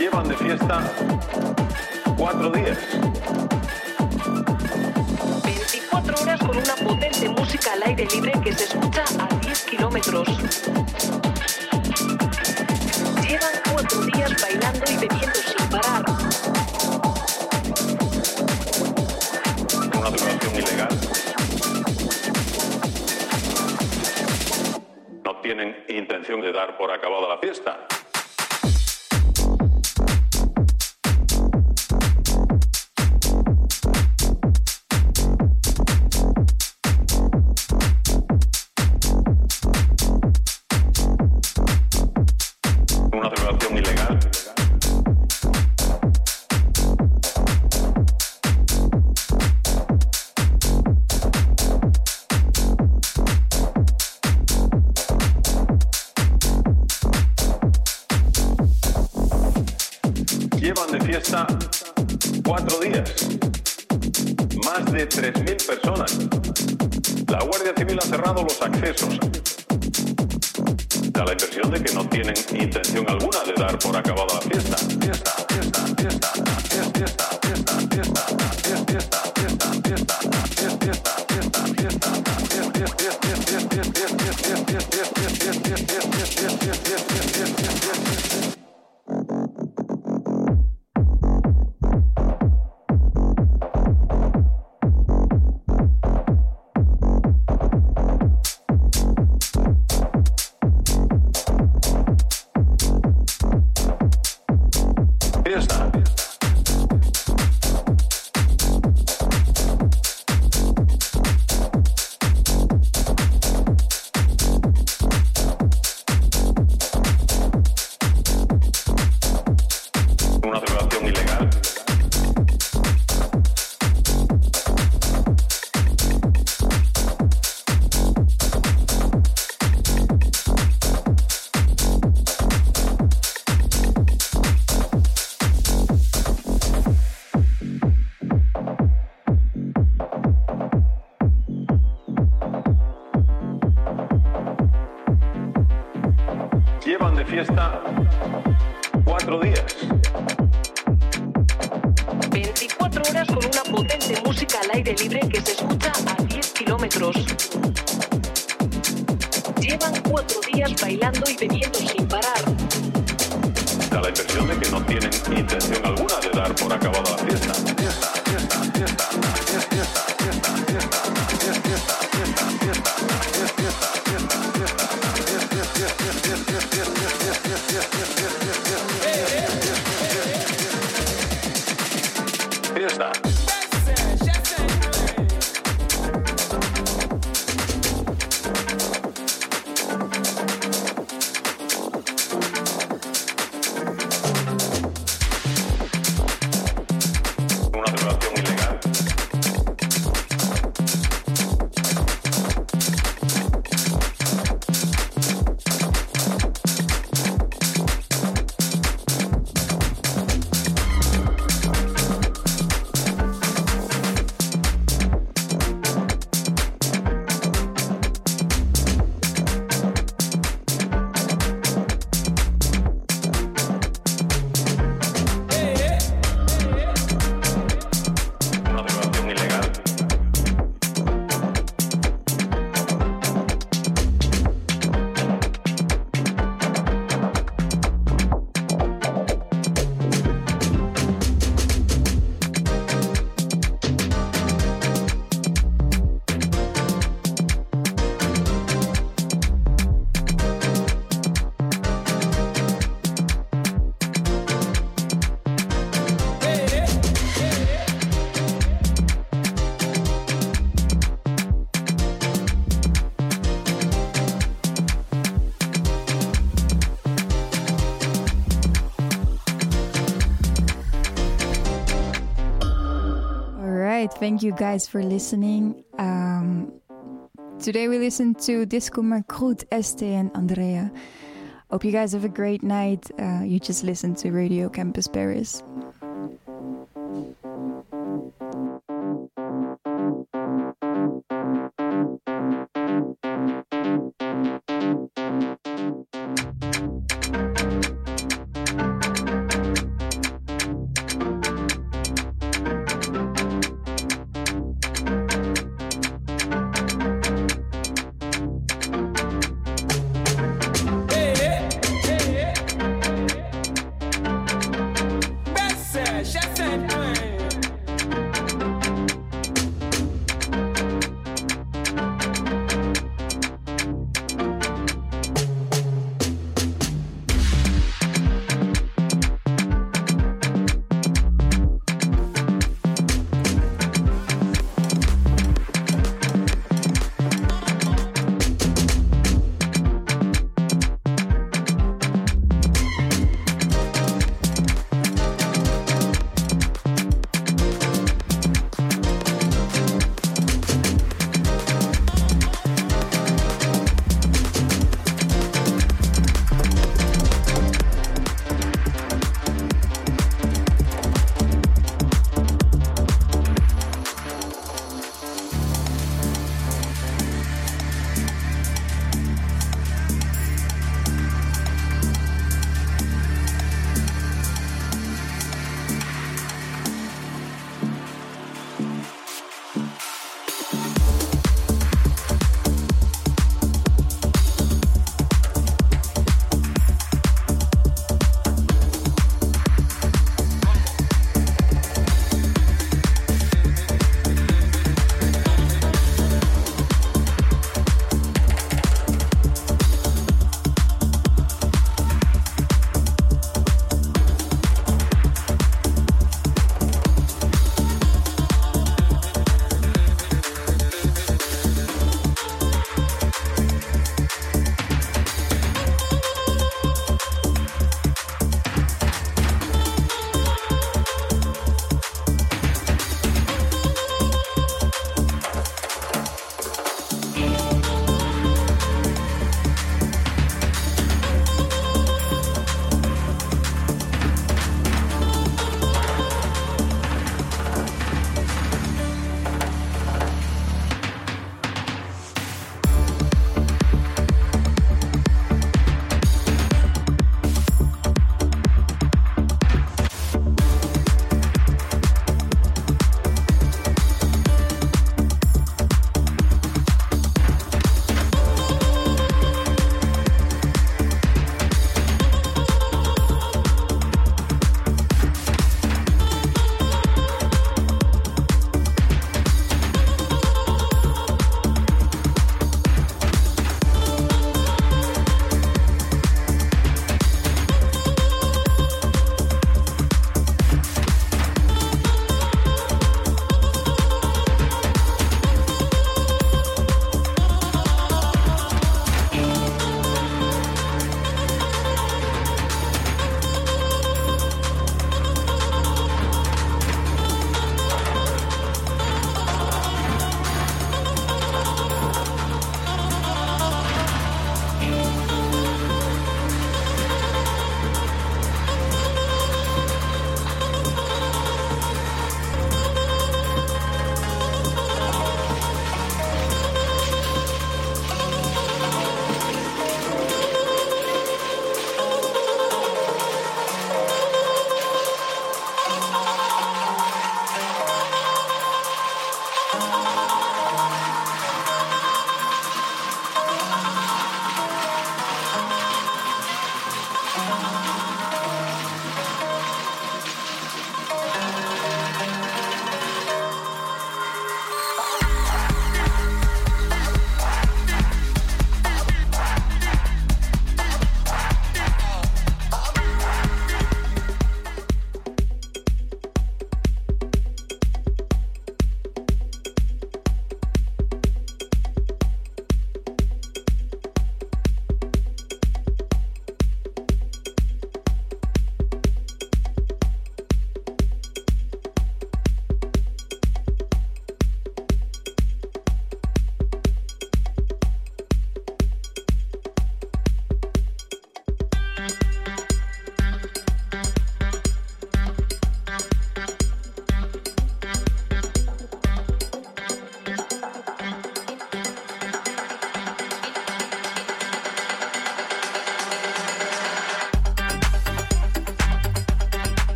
Speaker 2: Llevan de fiesta 4 días.
Speaker 22: 24 horas con una potente música al aire libre que se escucha a 10 kilómetros. Llevan 4 días bailando y bebiendo sin parar.
Speaker 2: Una duración ilegal. No tienen intención de dar por acabada la fiesta. Una celebración ilegal. Llevan de fiesta 4 días. Más de 3.000 personas. La Guardia Civil ha cerrado los accesos. Da la impresión de que no tienen intención alguna de dar por acabada la fiesta. Fiesta, fiesta, fiesta, fiesta, fiesta, fiesta, fiesta, fiesta, fiesta, fiesta, fiesta, fiesta, fiesta, una celebración ilegal. Llevan de fiesta 4 días.
Speaker 22: 24 horas con una potente música al aire libre que se escucha a 10 kilómetros. Llevan 4 días bailando y bebiendo sin parar.
Speaker 2: Da la impresión de que no tienen intención alguna de dar por acabada la fiesta. Fiesta, fiesta, fiesta, fiesta, fiesta, fiesta, fiesta, fiesta, fiesta, fiesta, fiesta. Una celebración ilegal. Una celebración ilegal.
Speaker 1: Thank you guys for listening. Today we listened to Disco Macroot, Este and Andrea. Hope you guys have a great night. You just listened to Radio Campus Paris.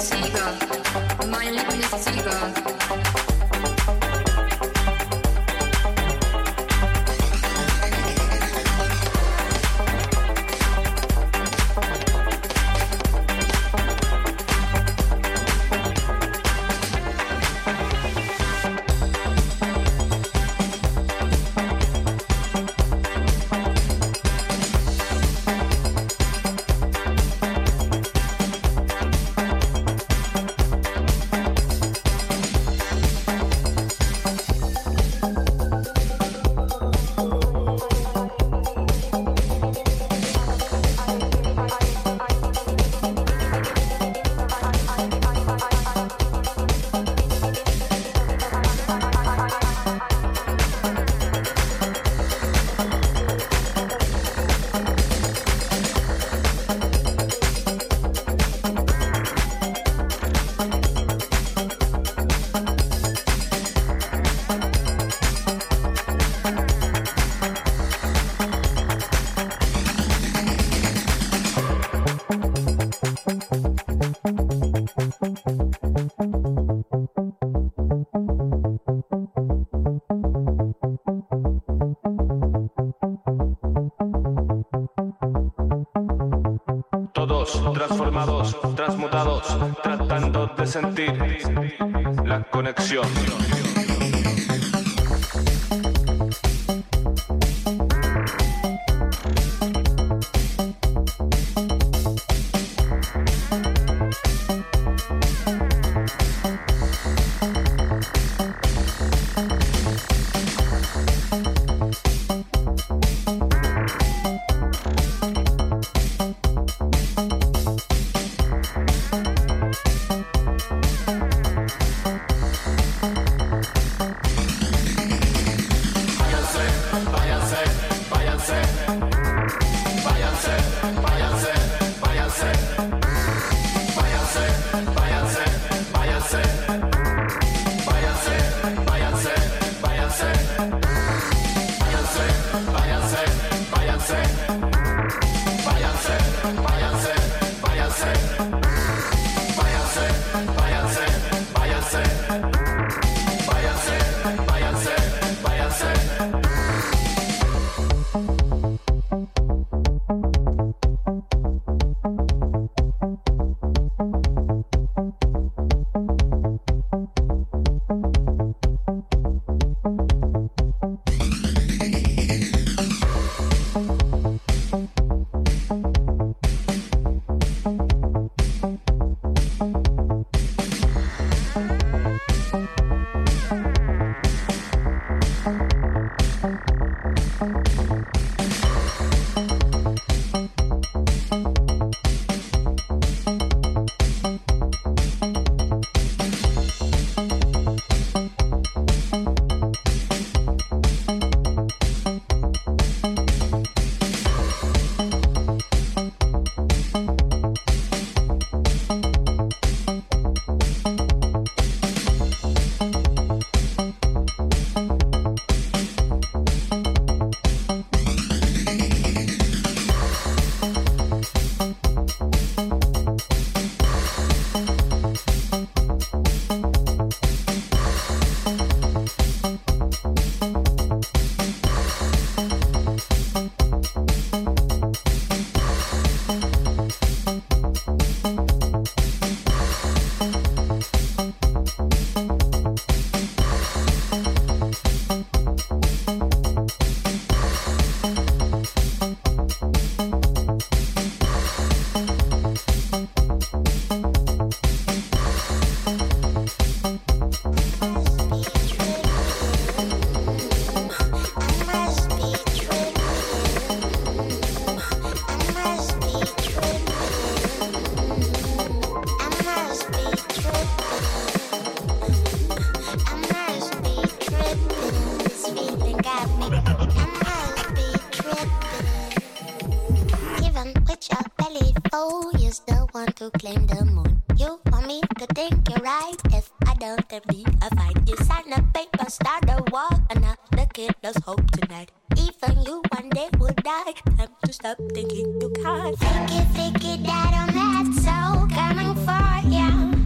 Speaker 3: transformados, transmutados, tratando de sentir la conexión.
Speaker 4: To claim the moon. You want me to think you're right? If I don't, there be a fight. You sign a paper, start a war, another killer's hope tonight. Even you one day will die. Time to stop thinking you can't. Fake it, that I'm that so coming for you.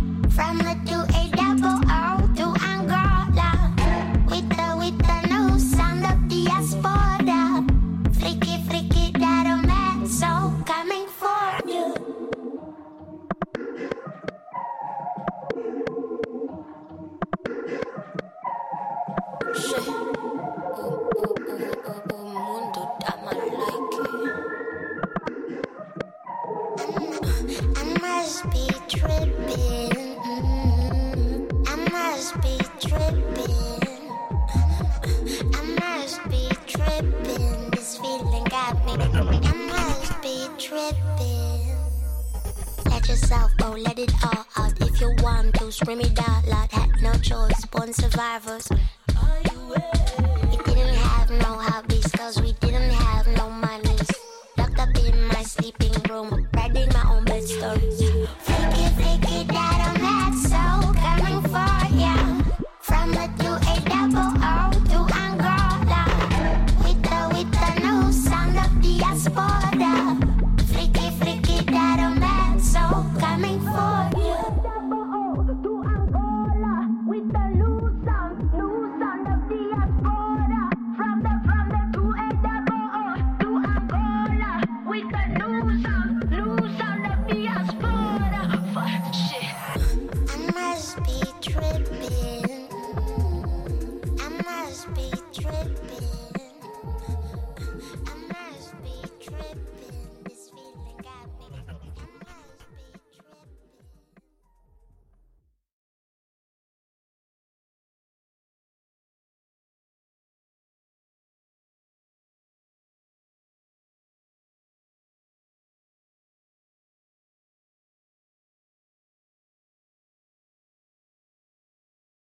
Speaker 4: be tripping. I must be tripping. I must be tripping. This feeling got me. I must be tripping. Let yourself go, let it all out. If you want to, scream it out loud. Had no choice, born survivors. We didn't have no hobbies, cause we didn't